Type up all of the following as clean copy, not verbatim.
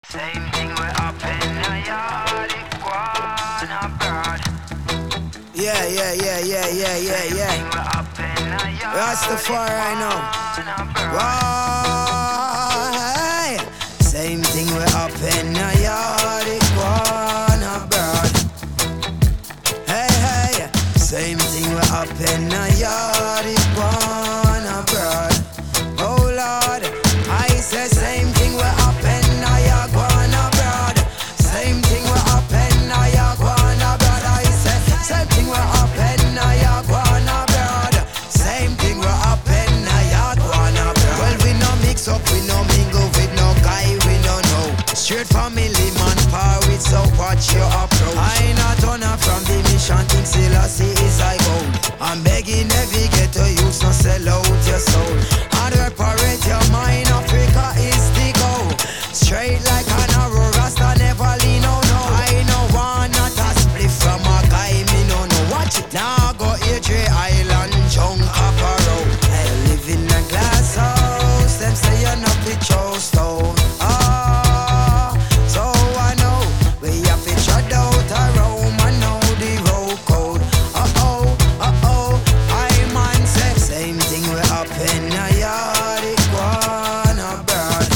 Same thing we up in the yard, it go on abroad. Yeah. Rastafari now. Why? Same thing we up in the yard, it go on abroad. Hey. Same thing we up in the yard, it go on abroad. Oh Lord, I say same thing we up in the yard, go on abroad. Same thing we up in the yard, go on abroad. I say same thing we up in the yard, go on abroad. Same thing we up in the yard, go on abroad. Well, we no mix up, we no mingle with no guy, we no know. Straight family man power with, so watch your approach. I not on from the mission, think Selassie is I gold. I'm begging every ghetto youth, no sell out your soul. And reparate your mind, Africa is the goal. Straight like an arrow, Rasta never lean, no. I know one, not a split from a guy, me no. Watch it now, go Adria Island, John Caparo. I live in a glass house, them say you're not the stone. So I know, we have to shut out a room, I know the road code. I man say, same thing we up in the yard, it go on abroad.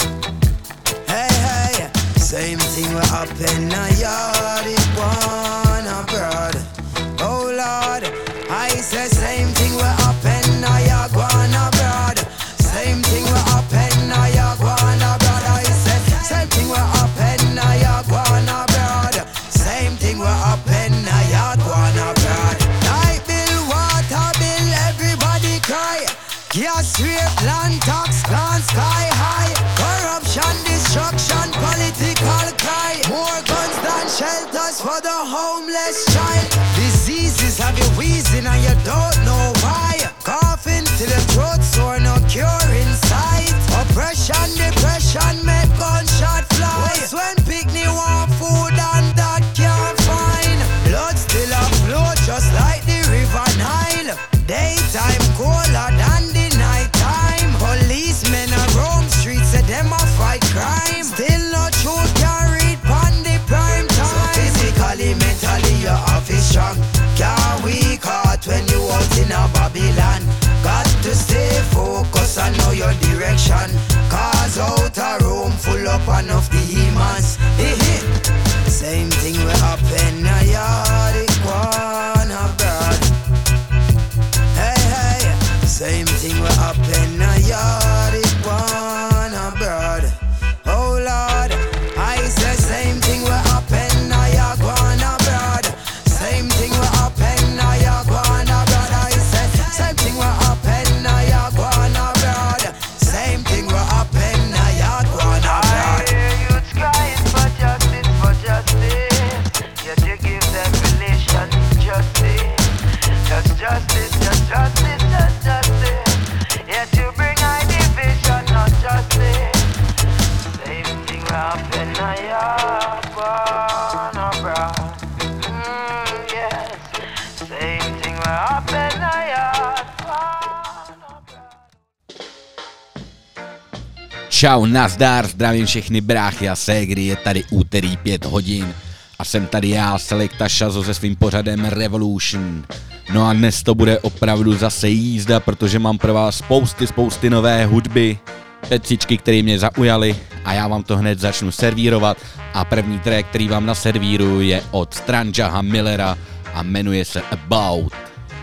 Hey, same thing we up in the yard, it go on abroad. Oh Lord, I say same thing we up in the yard, go on abroad. Same thing we up in the yard, go on abroad. I say same thing we up in the yard, go on abroad. Same thing we up in the yard, go on abroad. Light bill, water bill, everybody cry. Gas rate, land tax, gone sky high. Corruption, destruction, political cry. More guns than shelters for the homeless child. Diseases have you wheezing and you don't know why. Coughing till the throat sore, no cure in sight. Oppression, depression, make gunshot fly. When picnic want food and that can't find. Blood still a flow just like the river Nile. Daytime colder than the nighttime. Policemen a roam streets, say them a fight crime. Still not truth can read pon the prime time. So physically, mentally you have to strong. Can't weak heart when you out in a Babylon. Got to stay focused and know your direction. Cause out a room full up enough demons. Same thing we up in the yard, it go on abroad. Hey, same thing we up in the yard, it go on abroad. Oh Lord, I say same thing we up in the yard, go on abroad. Same thing we up in the yard, go on abroad. I say same thing we up in the yard, go on abroad. Same thing we up in the yard, go on abroad. I hear youths crying for justice, for justice. Yet you give them relation injustice. Just justice, just justice, just justice. Yet you bring high division, not justice. Same thing we up in the yard, go on abroad. Yes. Same thing we up in the yard, go on abroad. Čau, nazdar, zdravím všechny bráchy a ségry, je tady úterý 5 hodin a jsem tady já, Selekta Šazo se svým pořadem Revolution. No a dnes to bude opravdu zase jízda, protože mám pro vás spousty nové hudby, pecičky, které mě zaujaly a já vám to hned začnu servírovat a první track, který vám naservíruju, je od Strangeha Millera a jmenuje se About.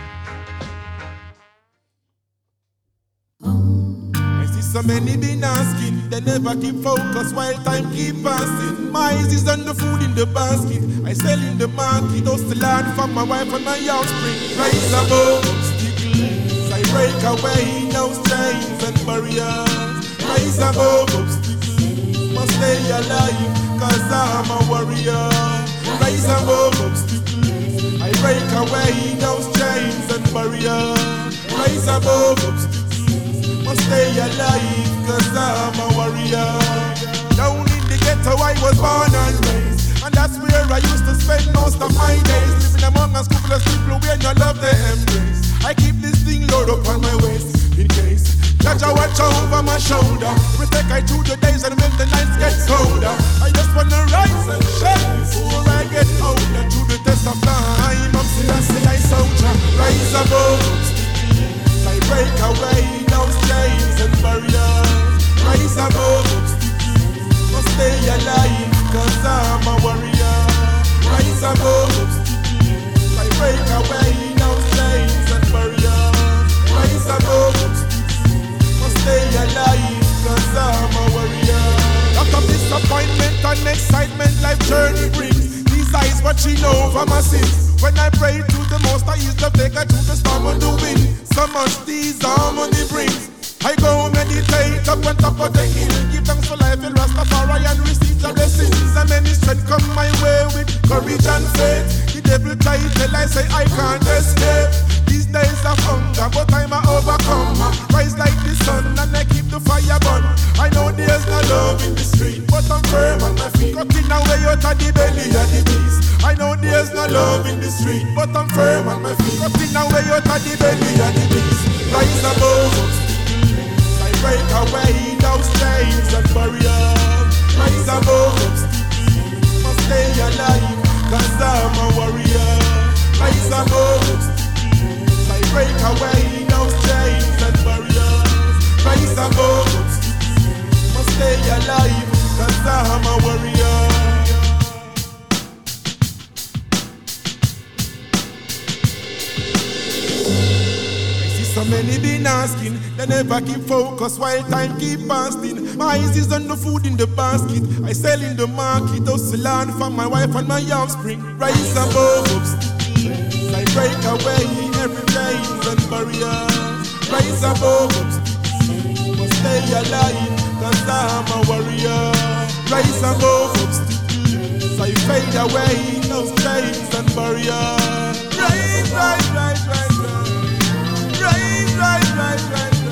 So many been asking, they never keep focus while time keep passing. My eyes is on the food in the basket, I sell in the market, host the land for my wife and my offspring. Rise above obstacles, I break away those chains and barriers. Rise above obstacles, must stay alive, cause I'm a warrior. Rise above obstacles, I break away those chains and barriers. Rise above obstacles, must stay alive, cause I'm a warrior. Down in the ghetto I was born and raised, and that's where I used to spend most of my days. Living among a school of people where no love they embrace. I keep this thing load up on my waist, in case Jaja watch over my shoulder. Protect I through the days and when the nights get colder. I just wanna rise and shine before I get older. Through the test of time, I'm still I soldier. Rise above, I break away those chains and barriers. Rise above, must stay alive, cause I'm a warrior. Rise above, I break away those chains and barriers. Rise above, stay alive, cause I'm a warrior. Lot of disappointment and excitement life journey brings. These eyes watching over my sins. When I pray to the most I use the take I to the storm and the wind. So much these harmony brings. I go meditate up on top of the hill. Give thanks for life in Rastafari and receive the blessings. And many strength come my way with courage and faith. The devil try till I say I can't escape. These days of hunger, but I'm a overcomer. Rise like the sun and I keep the fire burn. I know there's no love in the street, but I'm firm on my feet. Cutting away out of the belly of the beast. I know there's no love in the street, but I'm firm on my feet. Cutting away out of the belly of the beast. Rise above, I break away those chains and barriers. Rise above, must stay alive, cause I'm a warrior. Rise above, break away those chains and barriers. Rise above, must stay alive, cause I'm a warrior. I see so many been asking, they never keep focus while time keep passing. My eyes is on the food in the basket, I sell in the market, hustle land for my wife and my offspring. Rise above, I break away every chains and barriers. Rise above, must stay alive, cause I'm a warrior. Rise above, I fade away those chains and barriers. Rise, rise, rise, rise, rise. Rise, rise, rise, rise, rise.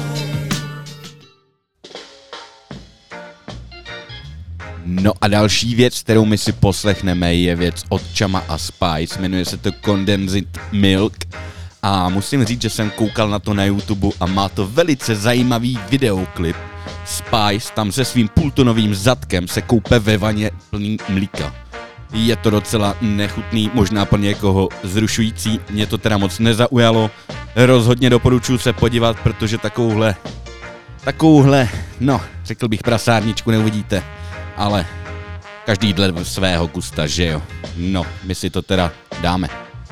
No a další věc, kterou my si poslechneme, je věc od Chama a Spice, jmenuje se to Condensed Milk a musím říct, že jsem koukal na to na YouTube a má to velice zajímavý videoklip. Spice tam se svým půltonovým zadkem se koupe ve vaně plný mlíka. Je to docela nechutný, možná pro někoho zrušující, mě to teda moc nezaujalo, rozhodně doporučuji se podívat, protože takovouhle, no, řekl bych prasárničku neuvidíte. Ale každý dle svého gusta, že jo? No, my si to teda dáme.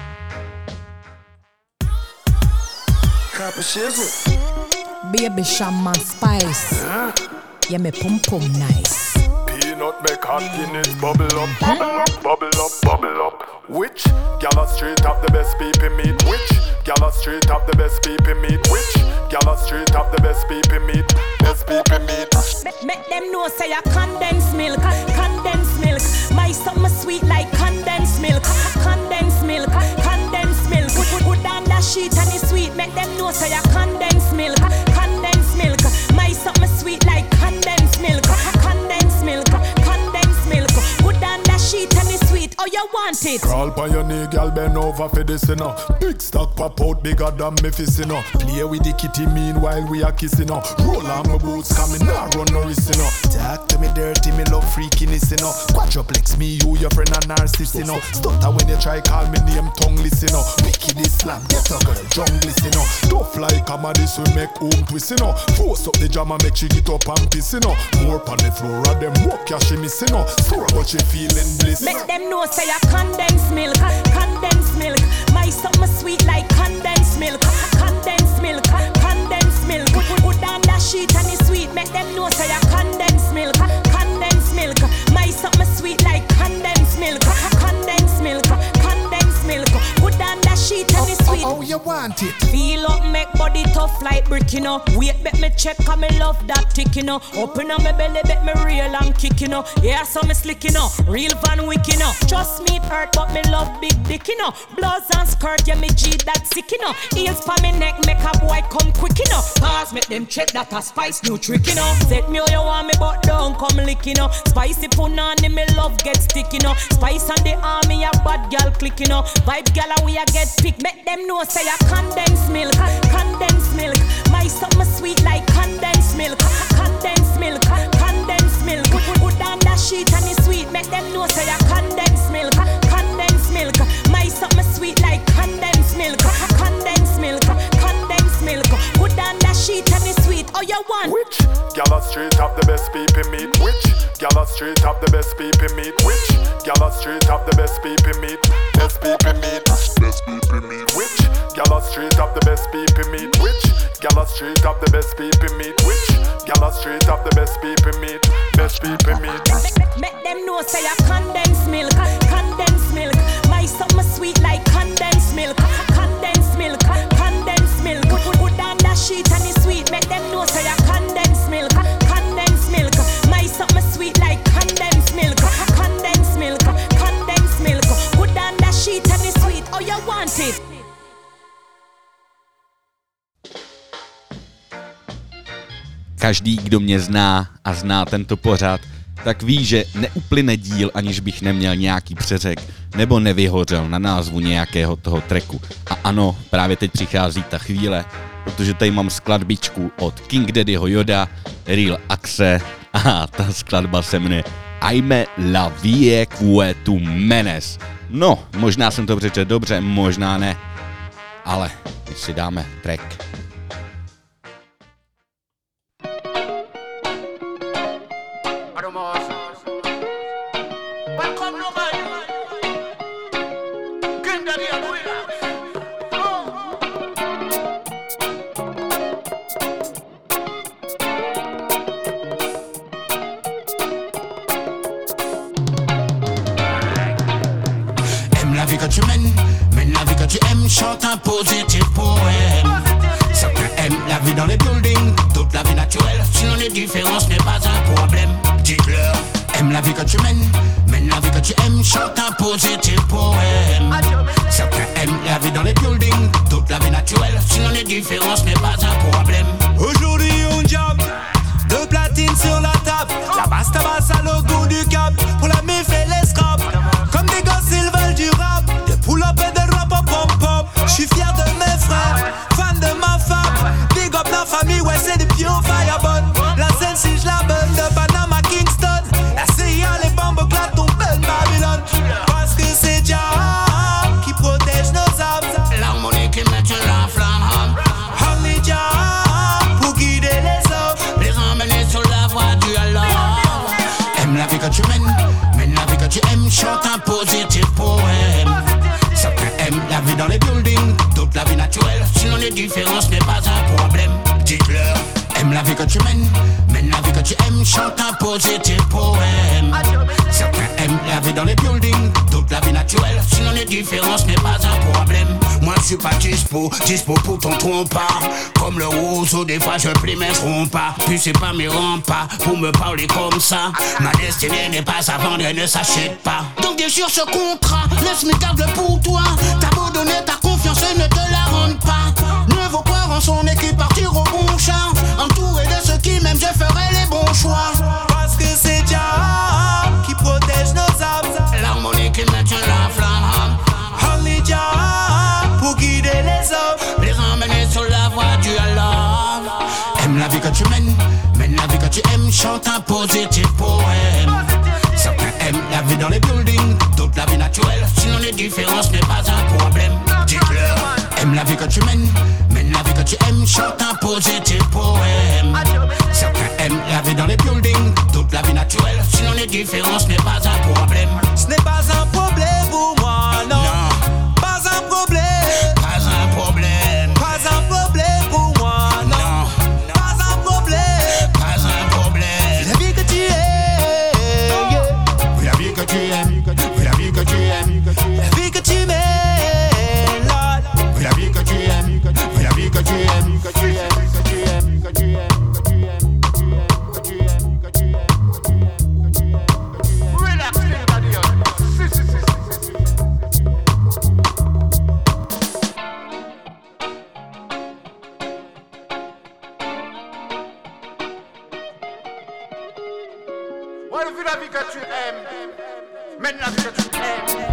Baby Chama Spice, yeah me pum pum nice. Peanut make hot Guinness bubble up, bubble up, bubble up, bubble up. Which gala straight up the best people meet? Which gala straight up the best people meet? Which gala straight up the best people meet? Best people meet. Make them know say a condensed milk, condensed milk. My summer sweet like condensed milk, condensed milk, condensed milk. Put down that sheet and it's sweet. Make them know say a condensed milk, condensed milk. My summer sweet like condensed milk, condensed milk, condensed milk. Put down that sheet and it's sweet. Oh, you want it? Crawl by your knee, girl, bend over for this, you know. Big stock pop out bigger than me fist, you know. Play with the kitty meanwhile we are kissing, you know. Roll on my boots, coming now, run no risk, you know. Talk to me dirty, me love freakiness, you know. Quadruplex me, you, your friend, and narcissist, you know. Stutter when you try call me name, tongueless, you know. Wicked Islam, get a girl, junglist, you know. Tough like a this we make home twist, you know. Force up the jam and make she get up and piss, you know. More on the floor, and them walk, yeah, she miss, you know. Sore, but she feeling bliss. Make them know say a condensed milk, condensed milk. My summer sweet like condensed milk, condensed milk, condensed milk. Put down that sheet and it's sweet. Make them know say a condensed milk, condensed milk. My summer sweet like condensed milk, condensed milk, condensed milk. Put down that sheet and it's sweet. Oh, you want it? Feel up, make body tough like brick, you know. Wait, bet me check, cause me love that tick, you know. Open up my belly, bet me real and kick, you know. Yeah, so me slick, you know. Real Van Wick, you know. Trust me, it hurt, but me love big dick, you know. Blouse and skirt, yeah, me G that sick, you know. Heels for me neck, make a boy come quick, you know. Pause, make them check that a Spice new trick, you know. Set me how you want me, but don't come lick, you know. Spicy punani, me love get stick, you know. Spice and the army, a bad girl click, you know. Vibe girl, we a get pick. Make them know say a condensed milk, condensed milk. My something sweet like condensed milk. Condensed milk, condensed milk. Put on that sheet and it's sweet. Make them know say you condensed milk. Condensed milk. My something sweet like condensed milk. Condensed milk, condensed milk. Put on that sheet and it's sweet. Oh, you want? Which gala street have the best people meat? Which gala street have the best people meat? Which gala street have the best people meat? Best people meat. Best people meat. Which gala street have the best people meat? Which gala street have the best people meat? Which gala street have the best people meat? Best people meat. Make them know say you condensed milk. Condensed milk. My something sweet like condensed milk. Condensed milk, condensed milk. Put on that sheet and it's sweet. Make them know say you condensed milk. Condensed milk. My something sweet like condensed milk. Condensed milk, condensed milk. Put on that sheet and it's sweet. Oh, you want it? Každý, kdo mě zná a zná tento pořad, tak ví, že neuplyne díl, aniž bych neměl nějaký přeřek nebo nevyhořel na názvu nějakého toho tracku. A ano, právě teď přichází ta chvíle, protože tady mám skladbičku od King Daddyho Yoda, Real Axe a ta skladba se jmenuje Aime la vie que tu menes. No, možná jsem to přečetl dobře, možná ne, ale my si dáme track. Chante un positif poème. Certains aiment la vie dans les buildings, d'autres la vie naturelle. Sinon les différences n'est pas un problème. Dites-leur, aime la vie que tu mène la vie que tu aimes. Chante un positif poème. Certains aiment la vie dans les buildings, d'autres la vie naturelle. Sinon les différences n'est pas un problème. Aujourd'hui on jam, deux platines sur la table. La basse tabasse à le goût du cap. Pour la mif et les scraps. Comme des gosses ils veulent du rap. Des pull-up et des rap pop pop. J'suis fier de mes frères, fan de ma femme. Big up la famille, ouais c'est des pions fireball. La scène si je la bonne de Panama Kingston. La CIA, les bombes claquent ton belle Babylone. Parce que c'est Jah qui protège nos âmes. L'harmonie qui met la flamme. Only Jah pour guider les hommes. Les emmener sur la voie du Allah. Aime la vie que tu mène la vie que tu aimes. Chante un positif poème. Certains aiment la vie dans les buildings, d'autres la vie naturelle. Sinon les différences n'est pas un problème. Dites-leur, aime la vie que tu mène la vie que tu aimes. Chante un positif poème. Certains aiment la vie dans les buildings, d'autres la vie naturelle. Sinon les différences n'est pas un problème. Moi je suis pas dispo pour ton trompa. Comme le roseau, des fois je plie mais je romps pas. Puis c'est pas mes remparts pour me parler comme ça. Ma destinée n'est pas à vendre et ne s'achète pas. Donc déchire ce contrat, laisse-moi garde-le pour toi. T'as beau donner ta confiance et ne te la rende pas. Ne vaut croire en son équipe, partir au bon char. Entouré de ceux qui m'aiment, je ferai les bons choix. Parce que c'est Jah qui protège nos âmes. L'harmonie qui maintient la flamme. Only Jah pour guider les hommes. Les emmener sur la voie du Allah. Aime la vie que tu mène la vie que tu aimes. Chante un positif poème. Certains aiment la vie dans les buildings, d'autres la vie naturelle. Sinon les différences n'est pas un problème. Dites-leur, aime la vie que tu mène la vie que tu aimes. Chante un positif poème. Certains aiment la vie dans les buildings, d'autres la vie naturelle. Sinon les différences n'est pas un problème. Ce n'est pas un problème pour moi, non. Pas un problème. Pas un problème. Pas un problème pour moi, non. Pas un problème. Pas un problème. La vie que tu aimes, yeah. La vie que tu aimes. La vie que tu aimes. La vie que tu mènes, Lord. La vie que tu aimes. La vie que tu aimes. Que tu aimes. Que tu aimes. Que tu aimes. La vie que tu aimes, mène la vie que tu aimes.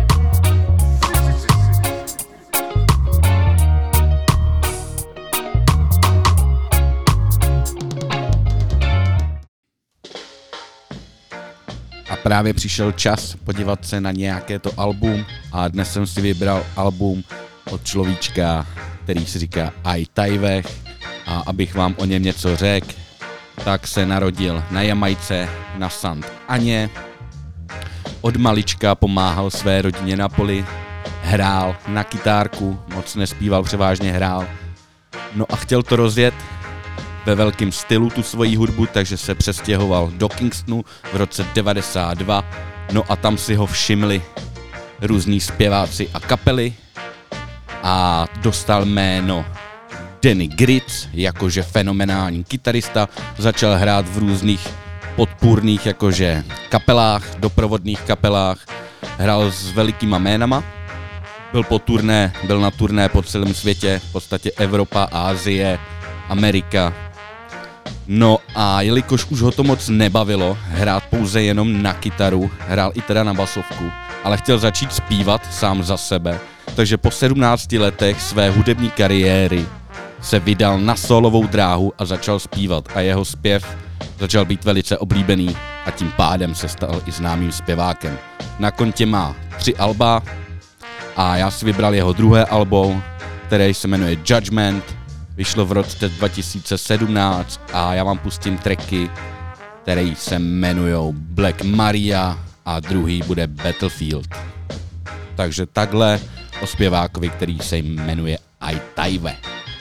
právě přišel čas podívat se na nějaké to album a dnes jsem si vybral album od človíčka, který se říká Ai Taiweh, a abych vám o něm něco řekl, tak se narodil na Jamajce na Sant Aně. Od malička pomáhal své rodině na poli, hrál na kytárku, moc nespíval, převážně hrál. No a chtěl to rozjet ve velkém stylu, tu svoji hudbu, takže se přestěhoval do Kingstonu v roce 92. No a tam si ho všimli různí zpěváci a kapely a dostal jméno Danny Gritz, jakože fenomenální kytarista, začal hrát v různých podpůrných jakože kapelách, doprovodných kapelách, hrál s velikýma jménama, byl na turné po celém světě, v podstatě Evropa, Asie, Amerika. No a jelikož už ho to moc nebavilo hrát pouze jenom na kytaru, hrál i teda na basovku, ale chtěl začít zpívat sám za sebe, takže po 17 letech své hudební kariéry se vydal na solovou dráhu a začal zpívat a jeho zpěv začal být velice oblíbený a tím pádem se stal i známým zpěvákem. Na kontě má 3 alba a já si vybral jeho druhé album, které se jmenuje Judgment, vyšlo v roce 2017 a já vám pustím tracky, které se jmenujou Black Maria a druhý bude Battlefield. Takže takhle o zpěvákovi, který se jmenuje Ai Taiweh.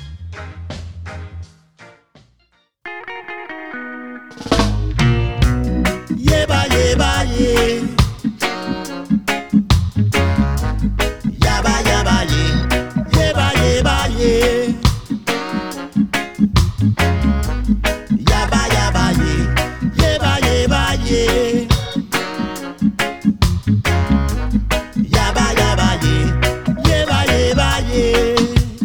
Yeba yeba ye, yaba yaba ye, yeba yeba ye, yaba yaba ye, yeba yeba ye, yaba yaba ye, yeba yeba ye.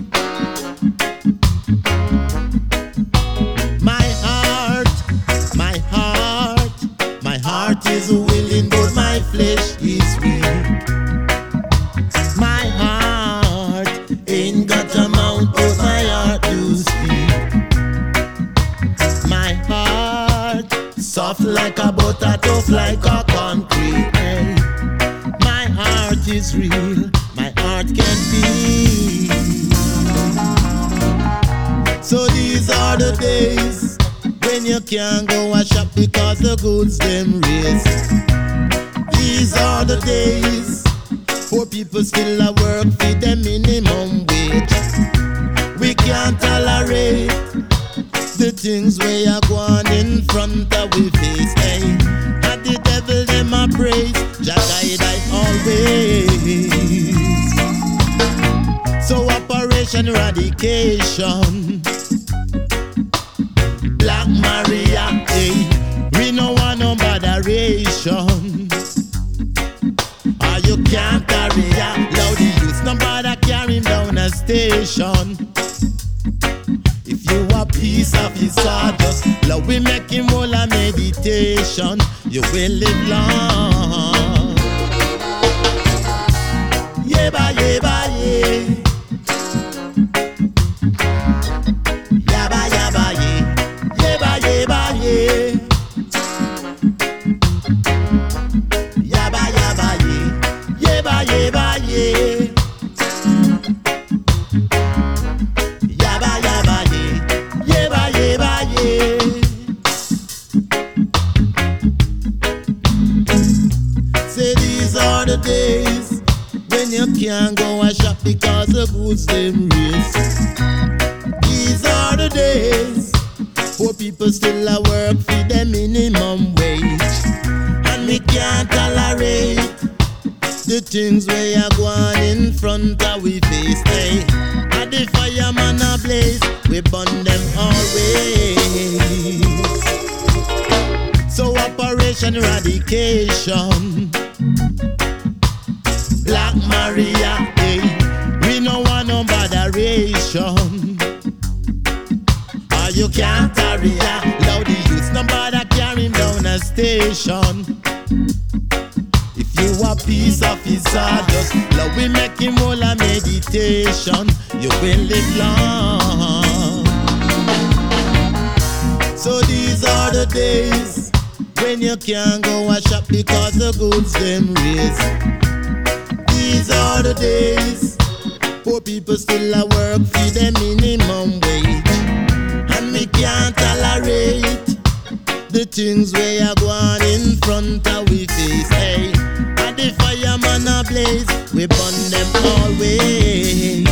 My heart is willing, but my flesh is weak. My heart ain't got a mouth, but my heart do speak. My heart soft like a butter, tough like a concrete. Hey. My heart is real, my heart can feel. So these are the days when you can't go a shop because the goods them raise. These are the days poor people still a work for the minimum wage. We can't tolerate the things we are going in front of we face. Hey, and the devil them a praise, Jah guide I always. So Operation Eradication, Black Maria, hey, we no want no botheration. Or you can't carry ya, loud the youth, no bother carry him down a station. If you a piece of his sawdust, love we make him all a meditation. You will live long. Yeba yeba ye. Yaba yaba ye. Yeba yeba ye. Yaba yaba ye. Yeba yeba ye. Yaba yaba ye. Yeba yeba ye. Say these are the days when you can't go and shop because the goods them raise. These are the days poor people still a work for the minimum wage, and we can't tolerate the things we are going in front of we face. Hey, and the fireman a blaze, we burn them always. So Operation Eradication, Black Maria, hey, we no want no botheration. Or you can't carry ya, loud the youth, no bother carry him down a station. If you a piece of his sawdust, love we make him all a meditation. You will live long. So these are the days when you can't go a shop because the goods them raise. These are the days, poor people still a work for the minimum wage, and we can't tolerate the things we are going in front of we face. Hey, and the fireman a blaze, we burn them always.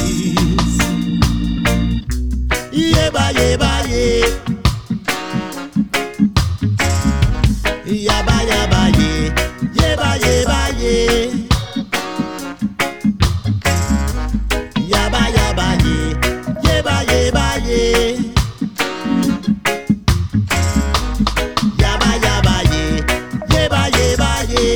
Yeah, ba, yeah, ba, yeah. Yaba yaba ye, yeba yeba ye. Yaba yaba ye, yeba yeba ye. Yaba yaba ye, yeba yeba ye.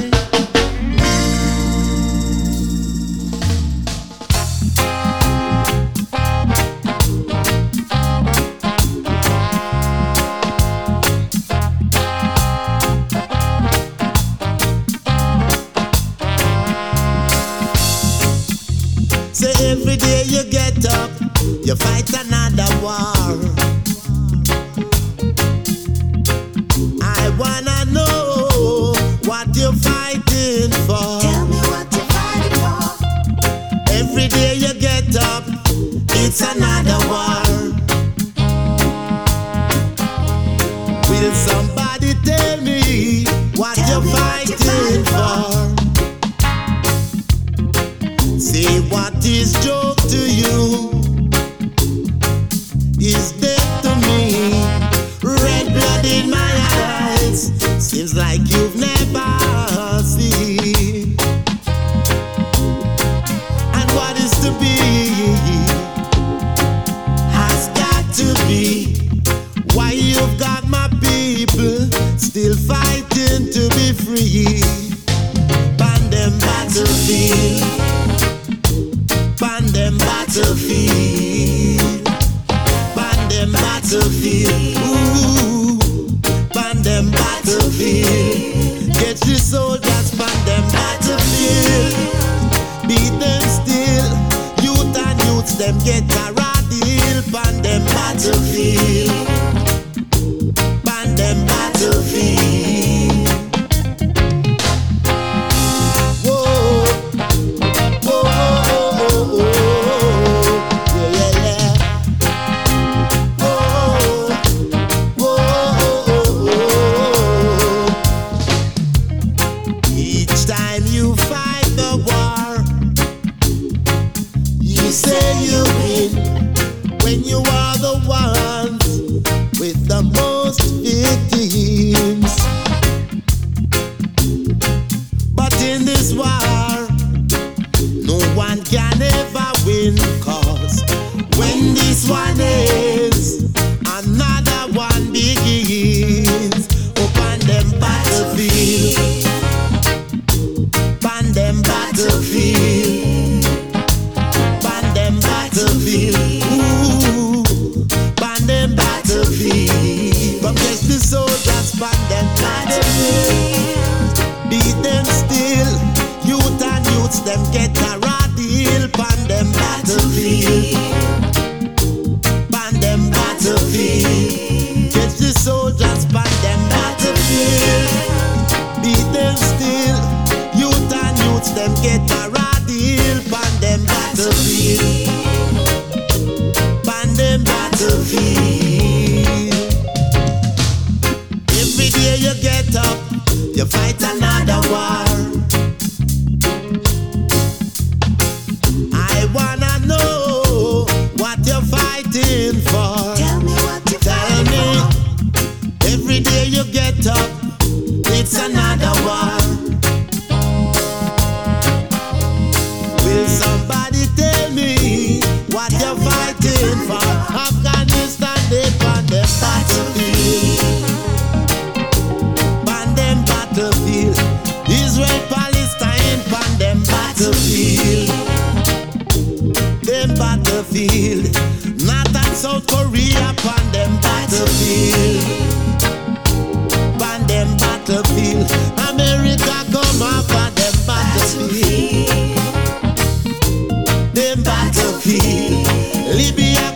Every day you get up, you fight another war. I wanna know what you're fighting for. Tell me what you're fighting for. Every day you get up, it's another war. Will somebody tell me what you're fighting for? Say what is joke to you is death to me. Red blood in my eyes, seems like you've never seen. And what is to be has got to be. Why you've got my people still fighting to be free. Ban them battlefield, ban them battlefield, ban them battlefield, ooh, ban them battlefield. Get the soldiers, ban them battlefield. Beat them still, youth and youths them get a deal. Ban them battlefield, ban them battlefield.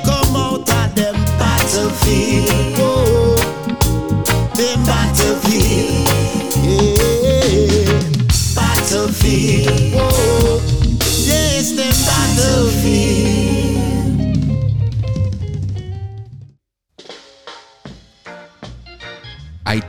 Them battlefield.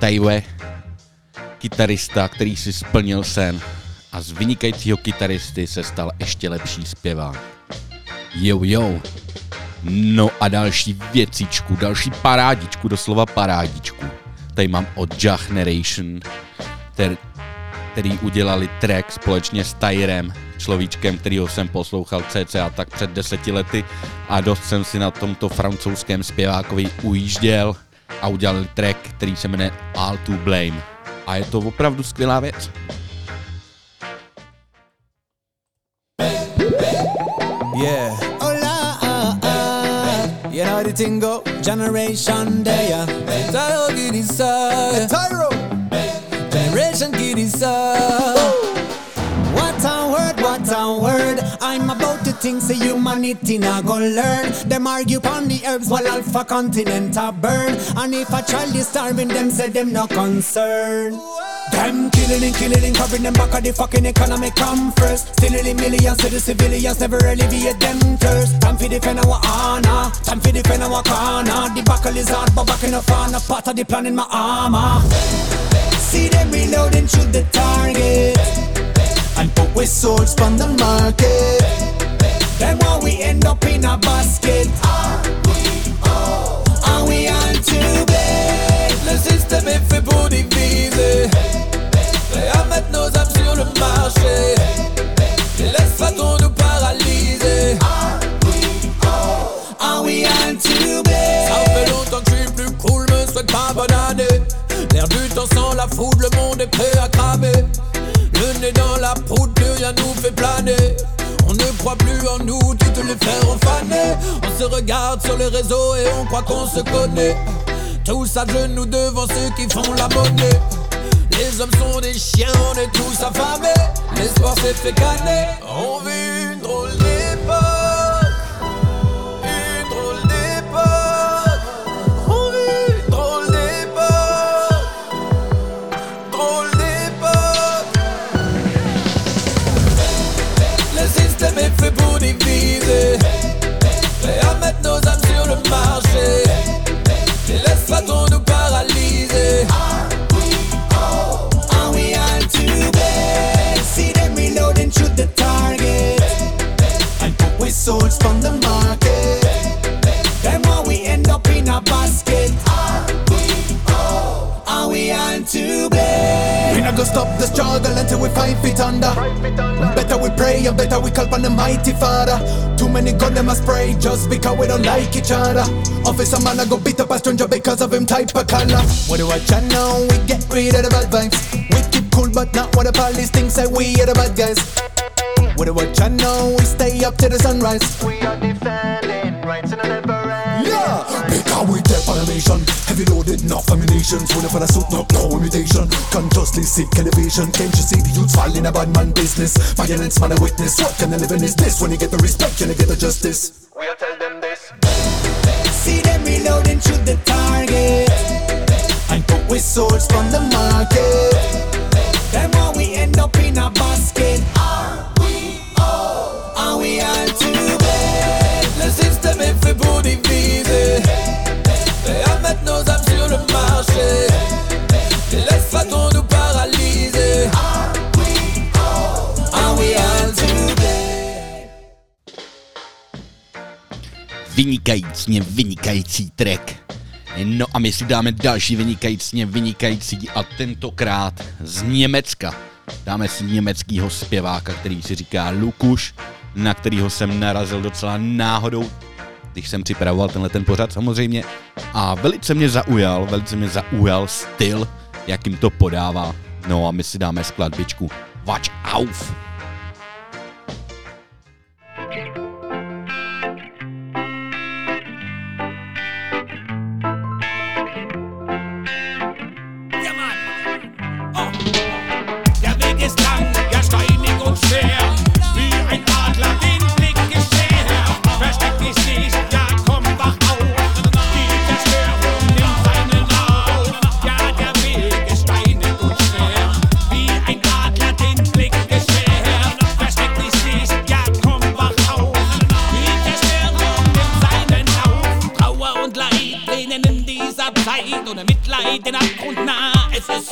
Taiwe, kytarista, který si splnil sen a z vynikajícího kytaristy se stal ještě lepší zpěvák. Jo. No a další věcičku, další parádičku, doslova parádičku. Tady mám od Jah Generation, který udělali track společně s Tyrem, človíčkem, kterýho jsem poslouchal cca tak před 10 lety a dost jsem si na tomto francouzském zpěvákovi ujížděl a udělali track, který se jmenuje All to Blame. A je to opravdu skvělá věc. Yeah. Hola, you know the thing go, generation day, yeah. Tyro Giddy sir. Tyro. Generation Giddy sir. What a word. I'm about to think say humanity not go learn. Them argue on the herbs while Alpha continent a burn. And if a child is starving, them say them no concern. Them killing, covering them back of the fucking economy come first. Stealing millions to the civilians, never alleviate them thirst. Time for defend our honor, time for defend our corner. The battle is hard, but back in the front, a part of the plan in my armor. See them reloading, shoot the target, and put with swords on the market. Then why we end up in a basket? Are we on to bed? Le système est fait pour diviser. Et maintenant nous sommes sur le marché. Et laisse pas ton nous paralyser. Are we on to bed? Ça fait longtemps que je suis plus cool, me souhaite pas bonne année. L'air du temps sans la foudre, le monde est prêt à cramer. Le nez dans la poudre, plus rien nous fait planer. On ne croit plus en nous, toutes les frères ont fané. On se regarde sur les réseaux et on croit qu'on se connaît. Tous à genoux devant ceux qui font la monnaie. Les hommes sont des chiens, on est tous affamés. L'espoir s'est fait caner. On vit une drôle d'époque. Une drôle d'époque. On vit une drôle d'époque. Drôle d'époque. Le système est fait pour diviser. Et à mettre nos âmes sur le marché. Et laisse pas ton nous paralyser. Are we on to bed? See them reloading, shoot the target, and put with swords from the market. Then why we end up in a basket? Are we on to bed? We not gonna stop the struggle until we 5 feet under. Better we pray and better we call upon the mighty Father. Too many gun them a spray just because we don't like each other. Officer man I go beat up a stranger because of him type of color. What do I chat now? We get rid of the bad vibes. We keep cool but not what the police think say we are the bad guys. What do I chat now? We stay up till the sunrise. We are defending rights and never end. Yeah, because we deaf on a mission. Heavy loaded, enough ammunitions. Full of a suit, no imitation. Consciously seek elevation. Can't you see the youths fall in a bad man business? Violence man a witness. What kind of living is this? When you get the respect, you get the justice. We'll tell them this. See them reloading, shoot the target, and put with swords from the market. Then why we end up in a basket? Are we on to bed? Le système est fait pour diviser. Et à mettre nos âmes sur le marché. Et laisse pas ton nous paralyser. Are we on to bed? Vynikající track. No a my si dáme další vynikající a tentokrát z Německa. Dáme si německýho zpěváka, který si říká Lukuš, na kterýho jsem narazil docela náhodou, když jsem připravoval ten pořad samozřejmě. A velice mě zaujal styl, jakým to podává. No a my si dáme skladbičku Watch auf! Ohne Mitleid den Abgrund nah.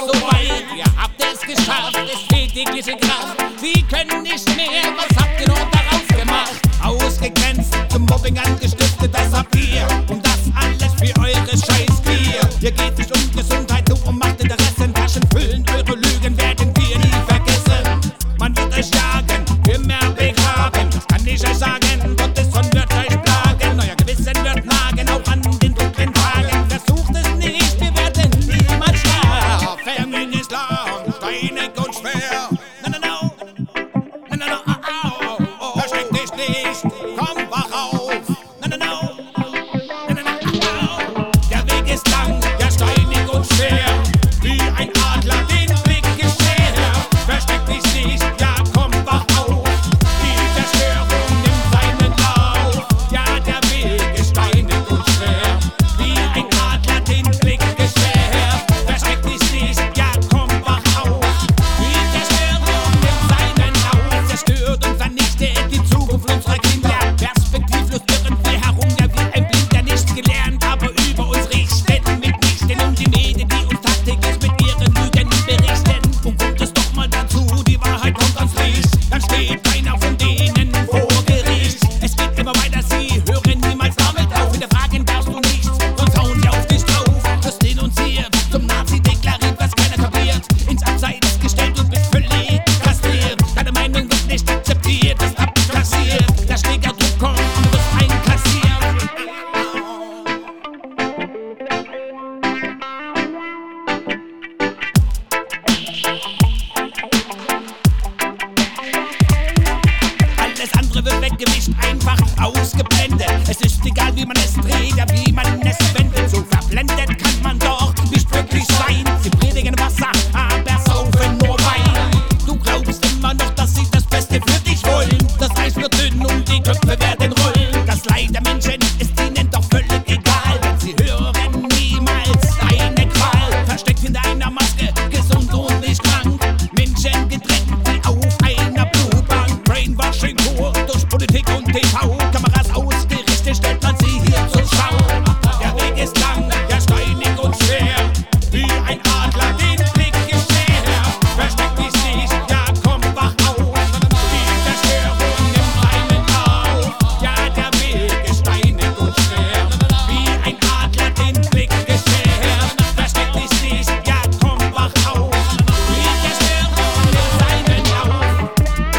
so weit, ihr habt es geschafft, es fehlt jegliche Kraft. Sie können nicht mehr, was habt ihr noch daraus gemacht? Ausgegrenzt, zum Mobbing angestiftet, das habt ihr. Und das alles für eure Scheißgier. Ihr geht nicht um Gesundheit, nur um Macht, Interessen, Taschen füllen. Eure Lügen werden wir nie vergessen. Man wird euch jagen, immer begraben. Das kann ich euch sagen, Gottes Sohn wird euch plagen. Euer Gewissen wird nagen, auch an den dunklen Tagen. Versucht es nicht, wir werden niemals schlafen. In Islam, steinig und schwer. No, no, no. No, no, no, oh, oh, oh. Versteck dich nicht, komm, wach auf. No, no, no. No, no, no, oh. Der Weg ist lang, der steinig und schwer. Wie ein Adler den Blick geschert. Versteck dich nicht, ja, komm, wach auf. Die Zerstörung nimmt seinen Lauf. Ja, der Weg ist steinig und schwer. Wie ein Adler den Blick geschert. Versteck dich nicht, ja, komm, wach auf. Die Zerstörung nimmt seinen Lauf. Zerstört und vernichtet die Zukunft unserer Kinder. Perspektivlos irren wir herum, ja, wie ein Blinder, nicht gelernt, aber über uns richten. Mitnichten um die Medien, die uns tagtäglich mit ihren Lügen berichten. Und kommt es doch mal dazu, die Wahrheit kommt ans Licht, dann steht keiner von denen vor Gericht. Es geht immer weiter, sie hören niemals damit auf. Hinterfragen darfst du nicht, sonst hauen sie auf dich drauf. Wirst denunziert, zum Nazi deklariert, was keiner kapiert. Ins Abseits gestellt und bist völlig kastriert. Deine Meinung wird nicht akzeptiert, das abkassiert. Der Schlägerdruck kommt und du wirst einkassiert. Alles andere wird weggewischt, einfach ausgeblendet. Es ist egal, wie man es dreht, ja, wie man es wendet. So verblendet kann man doch nicht wirklich sein. Sie predigen Wasser, aber saufen nur Wein. Du glaubst immer noch, dass sie das Beste für dich wollen. Das Eis wird dünn und die Köpfe werden rollen. Das Leid der Menschen ist ihnen doch völlig egal, denn sie hören niemals deine Qual. Versteckt hinter einer Maske, gesund und nicht krank. Menschen getrennt wie auf einer Blutbank. Brainwashing pur durch Politik und TV. Kameras ausgerichtet, stellt man sie hier zur Schau. Der Weg ist lang, der steinig und schwer. Wie ein Adler den Blick geschert. Versteck dich nicht, ja, komm, wach auf. Die Zerstörung nimmt seinen Lauf. Ja, der Weg ist steinig und schwer. Wie ein Adler den Blick geschert. Versteck dich nicht, ja, komm, wach auf. Die Zerstörung nimmt seinen Lauf.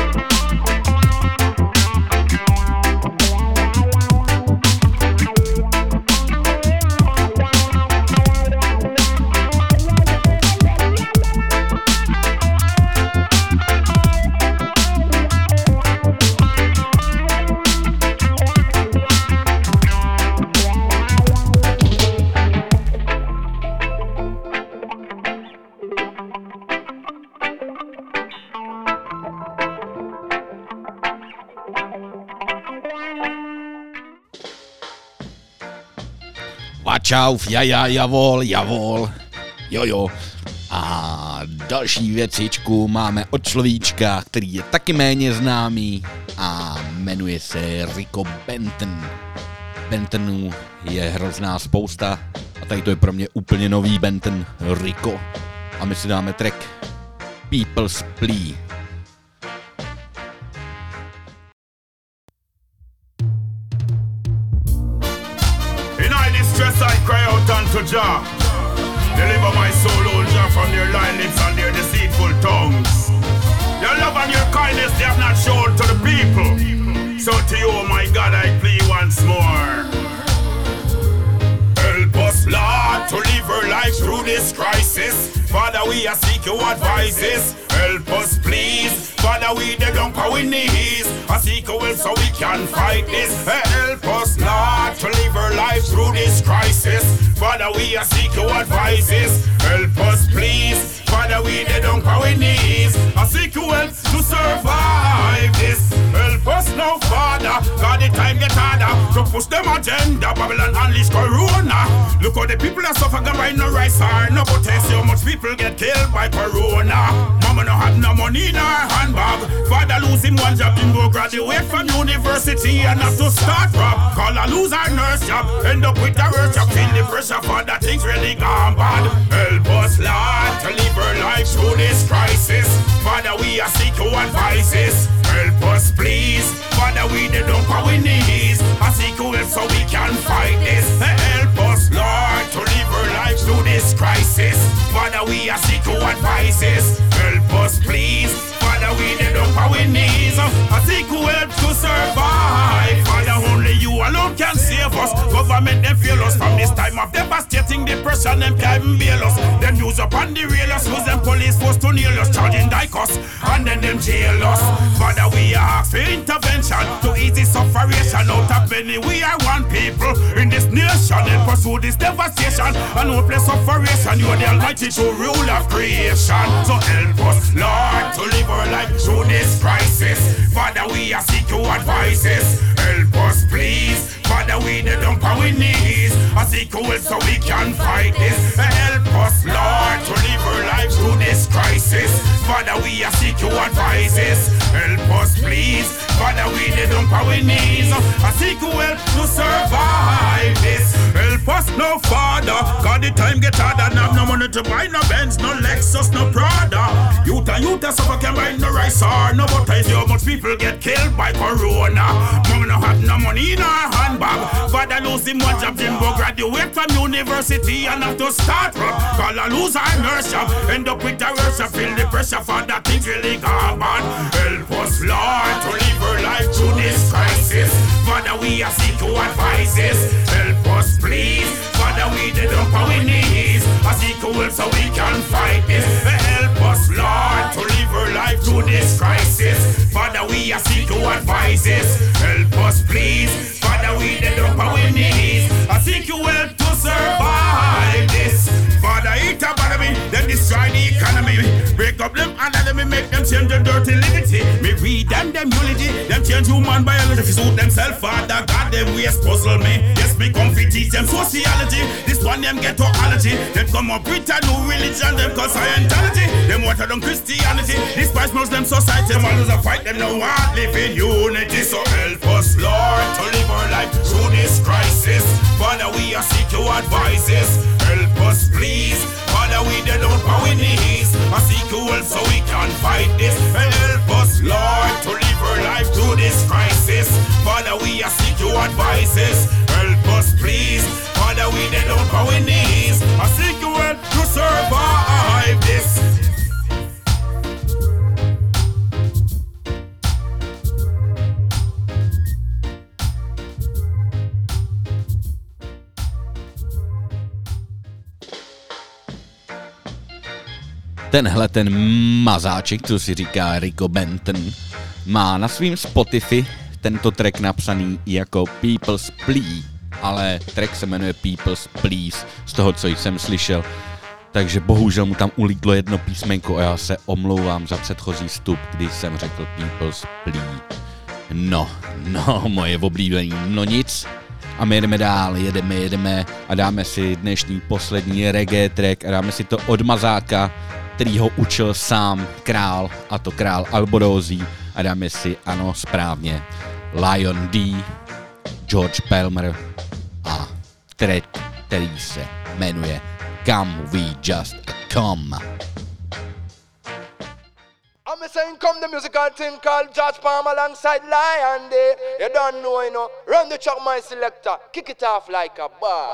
Čauf, javol. Jojo. A další věcičku máme od človíčka, který je taky méně známý a jmenuje se Rico Benton. Bentonů je hrozná spousta a tady to je pro mě úplně nový Benton Rico. A my si dáme track People's Plea. In all distress I cry out unto Jah. Deliver my soul, O Jah, from their lying lips and their deceitful tongues. Your love and your kindness they have not shown to the people. So to you, my God, I plead once more. Help us, Lord, to live our life through this crisis. Father, we are seek your advices. Help us, please. Father, we the down on our knees. I seek your will so we can fight this. Help us, Lord, to live our life through this crisis. Father, we are seek your advices. Help us, please. Father, we the down on our knees. I seek your will to survive this. Help us now, Father. God, the time get harder to push them agenda. Babylon unleash Corona. Look how the people are suffering by no rice or no potassium. Much people get killed by Corona. Mama no have no money in her handbag. Father losing one job, him go graduate from university and have to start rob. Call a loser nurse job, end up with a work job. Feel the pressure for that things really gone bad. Help us, Lord, to live our Father, we are seek your advices. Help us, please. Father, we the dump our knees. I seek your help so we can fight this. Help us, Lord, to live our lives through this crisis. Father, we are seek your advices. Help us, please. Father, we the dump our knees. I seek your help to survive. Father, only you alone can save us. Government, them fail us from this time of devastating depression. Them can't even bail us. Them use up on the railers. Use them police force to nail us. Charging like us. And then them jail us. Father, we ask for intervention to ease the suffering out of many. We are one people in this nation and pursue this devastation and hopeless separation. You are the Almighty true rule of creation. So help us, Lord, to live our life through this crisis. Father, we are seek your advices. Help us, please. Father, we the dump our knees. I seek your help so we can fight this. Help us, Lord, to live our life through this crisis. Father, we are seek your advices. Help us, please. Father, we the dump our knees. I seek your help to survive this. Help us, no Father. God, the time get harder. Now no money to buy no Benz, no Lexus, no Prada. Youth and suffer can buy no rice or no butter. So much people get killed by Corona. Mom no have no money in her handbag. Father lose him one job, Jimbo graduate from university and have to start from. Call a loser and nurse job. End up with a worship, feel the pressure for that things really gone on. Help us, Lord, to live our life through this crisis. Father, we are seek your advices. Help us, please. Father, we the dump our knees. I seek your help so we can fight this. Help us, Lord, to live our life through this crisis. Father, we are seek your advices. Help us, please. Father, we the dump our knees. I seek your help to survive this. Father, eat up out of me, then destroy the economy. Break up them and let me make them change the dirty liberty. Me read them unity, them change human biology. If suit themselves, Father God, them ways puzzle me. Yes, me come fi teach them sociology. This one them ghettoology. Them come up with a new religion, them call Scientology. Them water down Christianity, despise Muslim society. Them always a fight, them no want live in unity. So help us, Lord, to live our life through this crisis. Father, we are seek your advices. Help us, please. Father, we the dump our knees. I seek your help so we can fight this. Help us, Lord, to live our life through this crisis. Father, we are seek your advices. Help us, please. Father, we the dump our knees. I seek your help to survive this. Tenhle ten mazáček, co si říká Rico Benton, má na svým Spotify tento track napsaný jako People's Plea, ale track se jmenuje People's Please, z toho, co jsem slyšel. Takže bohužel mu tam ulítlo jedno písmenko a já se omlouvám za předchozí vstup, když jsem řekl People's Plea. No, moje oblíbení, no nic. A my jedeme dál, jedeme a dáme si dnešní poslední reggae track a dáme si to od Mazáka, který ho učil sám král, a to král Alborózí, a dáme si, ano, správně, Lion D, George Palmer a track, který se jmenuje Come We Just Come. I'm saying come the musical thing called George Palmer alongside Lion D. You don't know, you know. Run the track, my selector. Kick it off like a boy.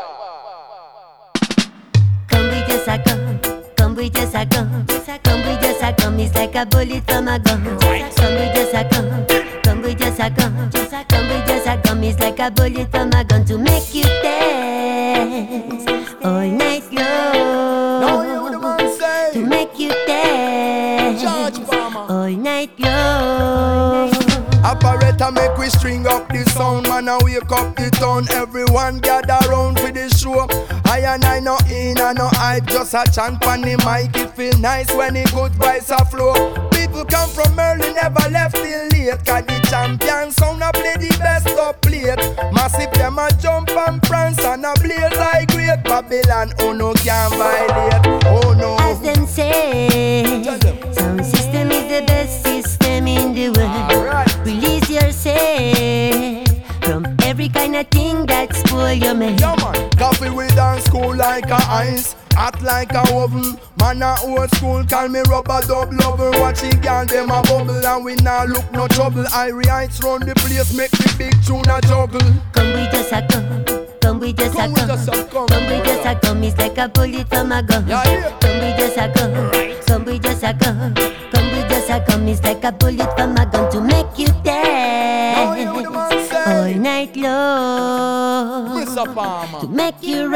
Come we just a come. Come we just a come. Come we just a come. It's like a bullet from a gun. Come we just a come. Come we just a come. Come we just a come. It's like a bullet from a gun to make you dance all night long. No, you the man say. To make you dance all night long. Operator make we string up the sound, man, and wake up the town. Everyone gather round for the show. I no in and no hype, just a chant on the mic. It feel nice when the good vibes a flow. People come from early, never left till late. Cause the champion sound a play the best up plate. Massive them a jump and prance and a blaze like great Babylon. Oh no, can't violate, oh no. As them say, sound system is the best system in the world. Right. Release yourself from every kind of thing that spoil your mind. Yeah man, coffee we dance cool like a nice, hot like a oven. Man a old school, call me rubber dub lover. Watch the girl them a bubble and we nah look no trouble. Irie heights round the place, make the big tune a juggle. Come we just a come. Come we just a come. Come we just a come. It's like a bullet from a gun. Come we just a come. Come we just a come. Come we just a come. It's like a bullet from a gun to make you dance all night long. To make you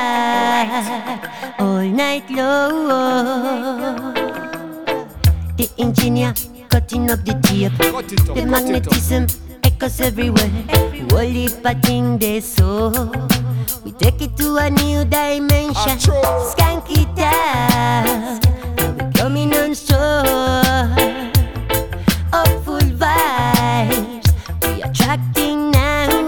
ride all night long. The engineer cutting up the tape. The magnetism echoes everywhere. Whole heap of thing they saw. We take it to a new dimension. Skank it out. And we coming on strong. Up full vibes. We attracting now.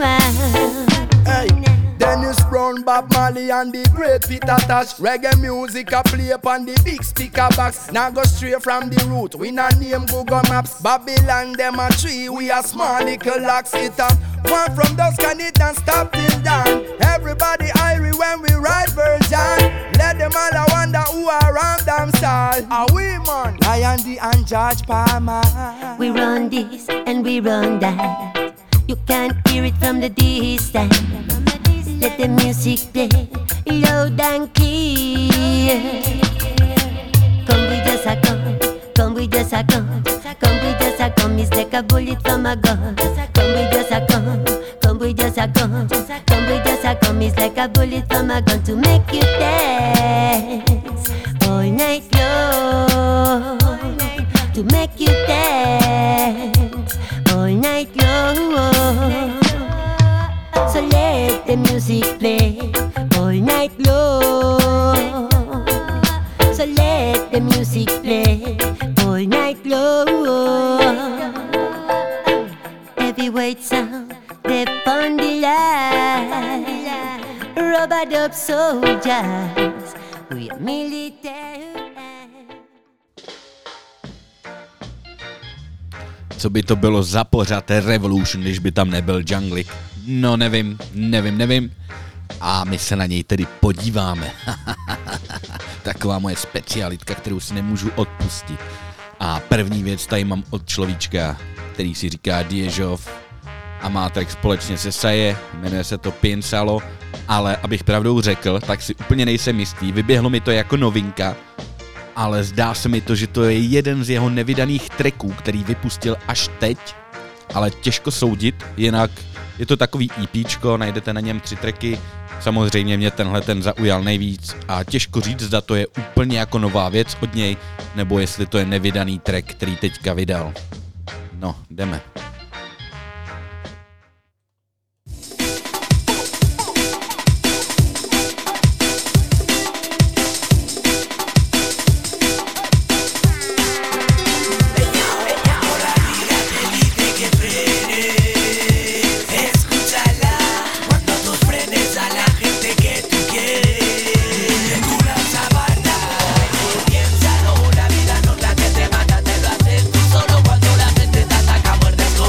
Hey, Dennis Brown, Bob Marley and the great Peter Tosh. Reggae music a play upon the big speaker box. Now go straight from the root. We not name Google Maps. Babylon them a tree. We a small little locks it up. One from dusk and it don't stop till dawn. Everybody irie when we ride version. Let them all a wonder who around them style. Are we man? Lion D and George Palmer. We run this and we run that. You can't hear it from the distance. Let the music play loud and clear. Come we just a come. Come we just a come. Come we just a come. It's like a bullet from a gun. Come we just a come. Come we just a come. Come we just a come. It's like a bullet from a gun to make you dance all night long. To make you dance all night long. So let the music play all night long. So let the music play all night long. Heavyweight sound, they on the line. Rubber dub soldiers, we are military. Co by to bylo za pořad Revolution, když by tam nebyl Junglik? No nevím. A my se na něj tedy podíváme. Taková moje specialitka, kterou si nemůžu odpustit. A první věc tady mám od človíčka, který si říká Diežov a má track společně se Saje, jmenuje se to Pinsalo, ale abych pravdou řekl, tak si úplně nejsem jistý, vyběhlo mi to jako novinka, ale zdá se mi to, že to je jeden z jeho nevydaných tracků, který vypustil až teď, ale těžko soudit, jinak je to takový EPčko, najdete na něm 3 tracky, samozřejmě mě tenhle ten zaujal nejvíc a těžko říct, zda to je úplně jako nová věc od něj, nebo jestli to je nevydaný track, který teďka vydal. No, jdeme. Piénsalo, la vida no es la que te mata, te lo haces tú solo cuando la gente te ataca, muerdes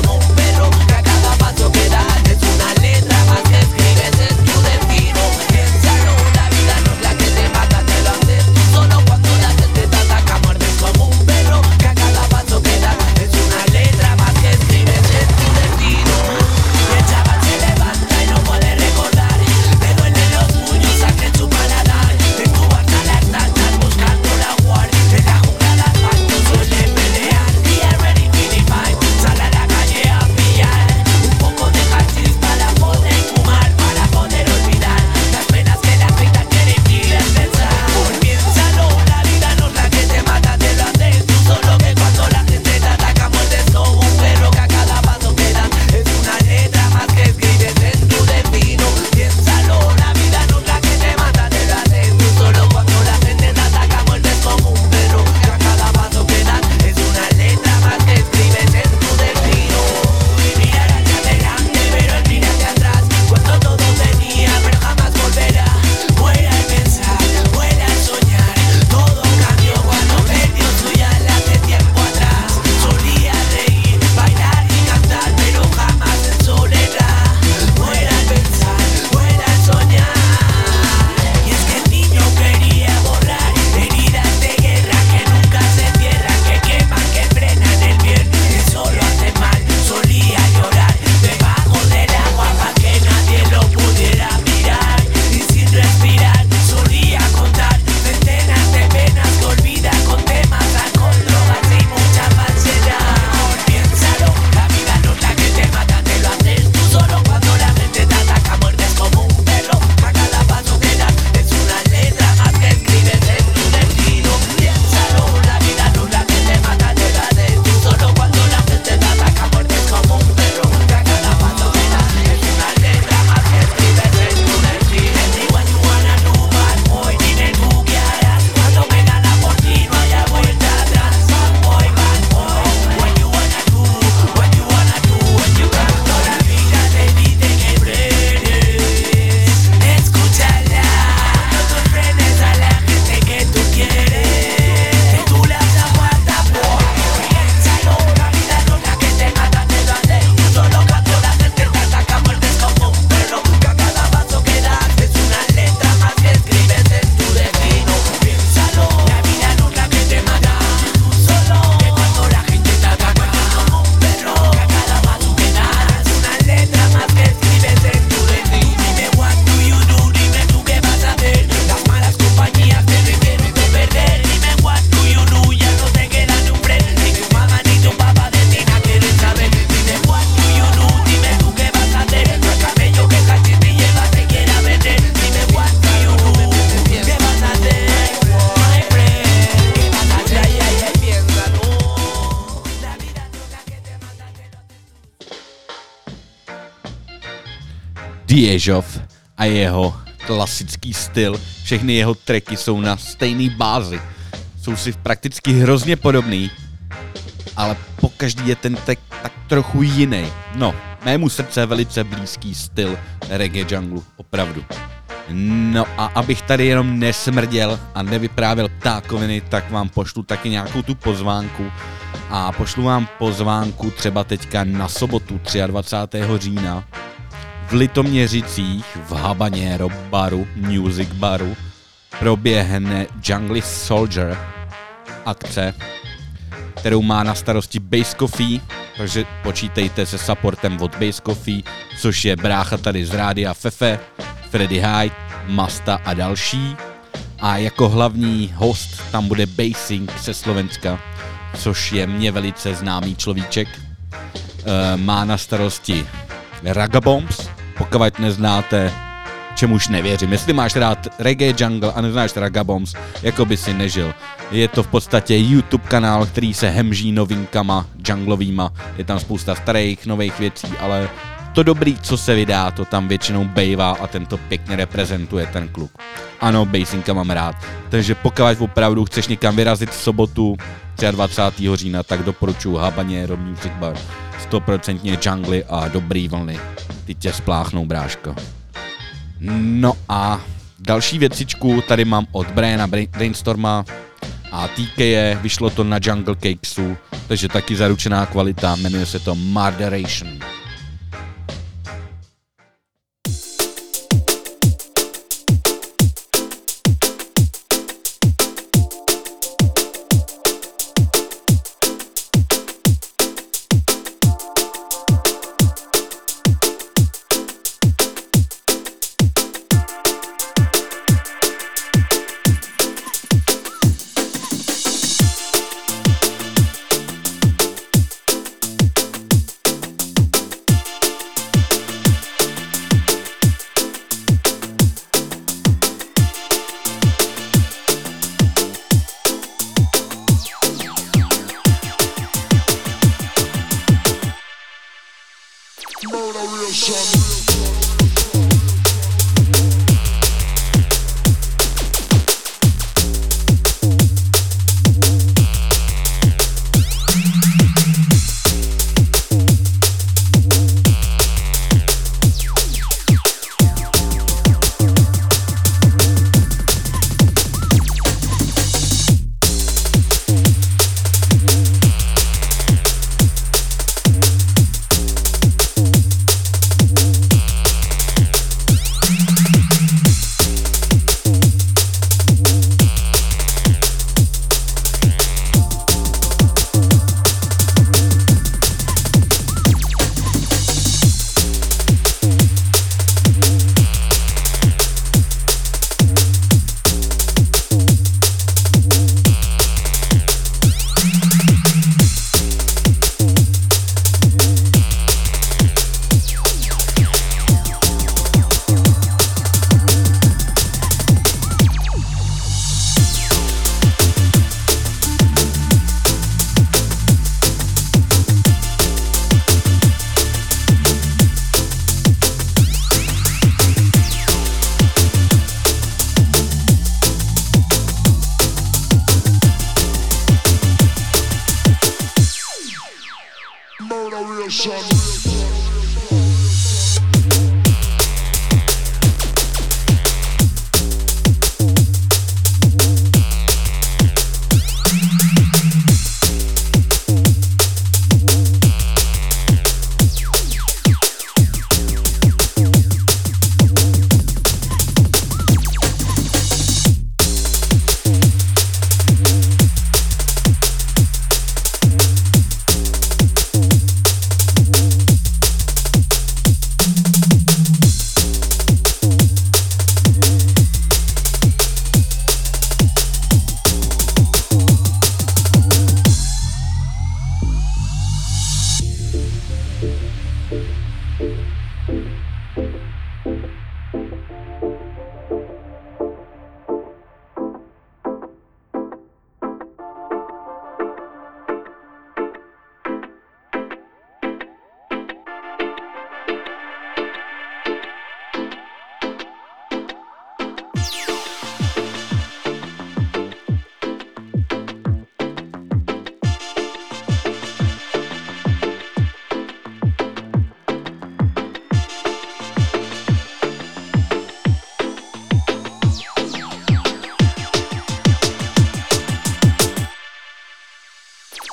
Diežov a jeho klasický styl. Všechny jeho tracky jsou na stejné bázi. Jsou si prakticky hrozně podobný, ale pokaždý je ten track tak trochu jiný. No, mému srdce je velice blízký styl reggae junglu, opravdu. No a abych tady jenom nesmrděl a nevyprávěl ptákoviny, tak vám pošlu taky nějakou tu pozvánku. A pošlu vám pozvánku třeba teďka na sobotu 23. října v Litoměřicích v Habanero baru, music baru, proběhne Jungle Soldier akce, kterou má na starosti Bass Coffee, takže počítejte se supportem od Bass Coffee, což je brácha tady z rádia Fefe, Freddy Hyde, Masta a další. A jako hlavní host tam bude Basing ze Slovenska, což je mě velice známý človíček. Má na starosti Ragabombs, pokud neznáte, čemuž nevěřím. Jestli máš rád reggae jungle a neznáš Ragabombs, jako by si nežil. Je to v podstatě YouTube kanál, který se hemží novinkama junglovýma. Je tam spousta starých, nových věcí, ale to dobrý, co se vydá, to tam většinou bejvá a ten to pěkně reprezentuje, ten kluk. Ano, Basinka mám rád. Takže pokud opravdu chceš někam vyrazit v sobotu 23. října, tak doporučuji Habanero Music Bar. 100% jungly a dobrý vlny. Ty tě spláchnou, bráško. No a další věcičku tady mám od Briana Brainstorma a TK, vyšlo to na Jungle Cakesu, takže taky zaručená kvalita, jmenuje se to Murderation.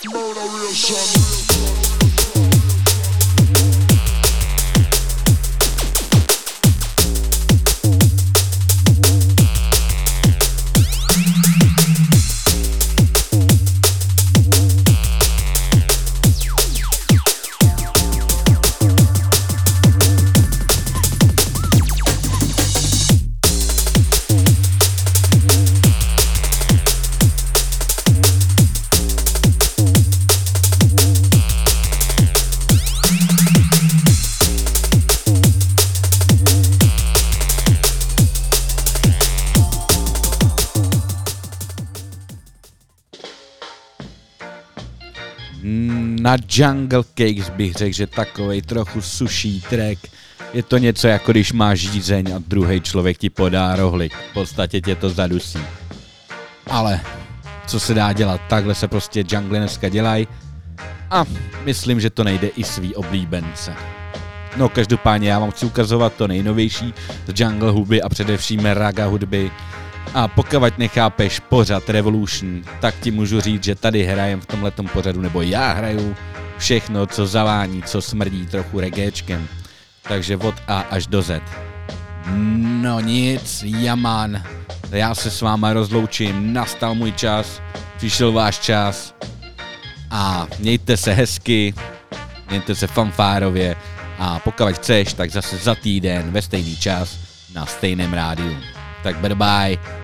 Na Jungle Cakes bych řekl, že takovej trochu suší track. Je to něco jako když máš žízeň a druhý člověk ti podá rohlik. V podstatě tě to zadusí. Ale co se dá dělat, takhle se prostě jungle dneska dělají. A myslím, že to nejde i svý oblíbence. No každopádně já vám chci ukazovat to nejnovější z jungle hudby a především raga hudby. A pokud nechápeš pořad Revolution, tak ti můžu říct, že tady hrajem v tomhletom pořadu, nebo já hraju všechno, co zavání, co smrdí trochu reggaečkem. Takže od A až do Z. No nic, jaman. Já se s váma rozloučím, nastal můj čas, přišel váš čas. A mějte se hezky, mějte se fanfárově. A pokud chceš, tak zase za týden ve stejný čas na stejném rádiu. Tak bye bye.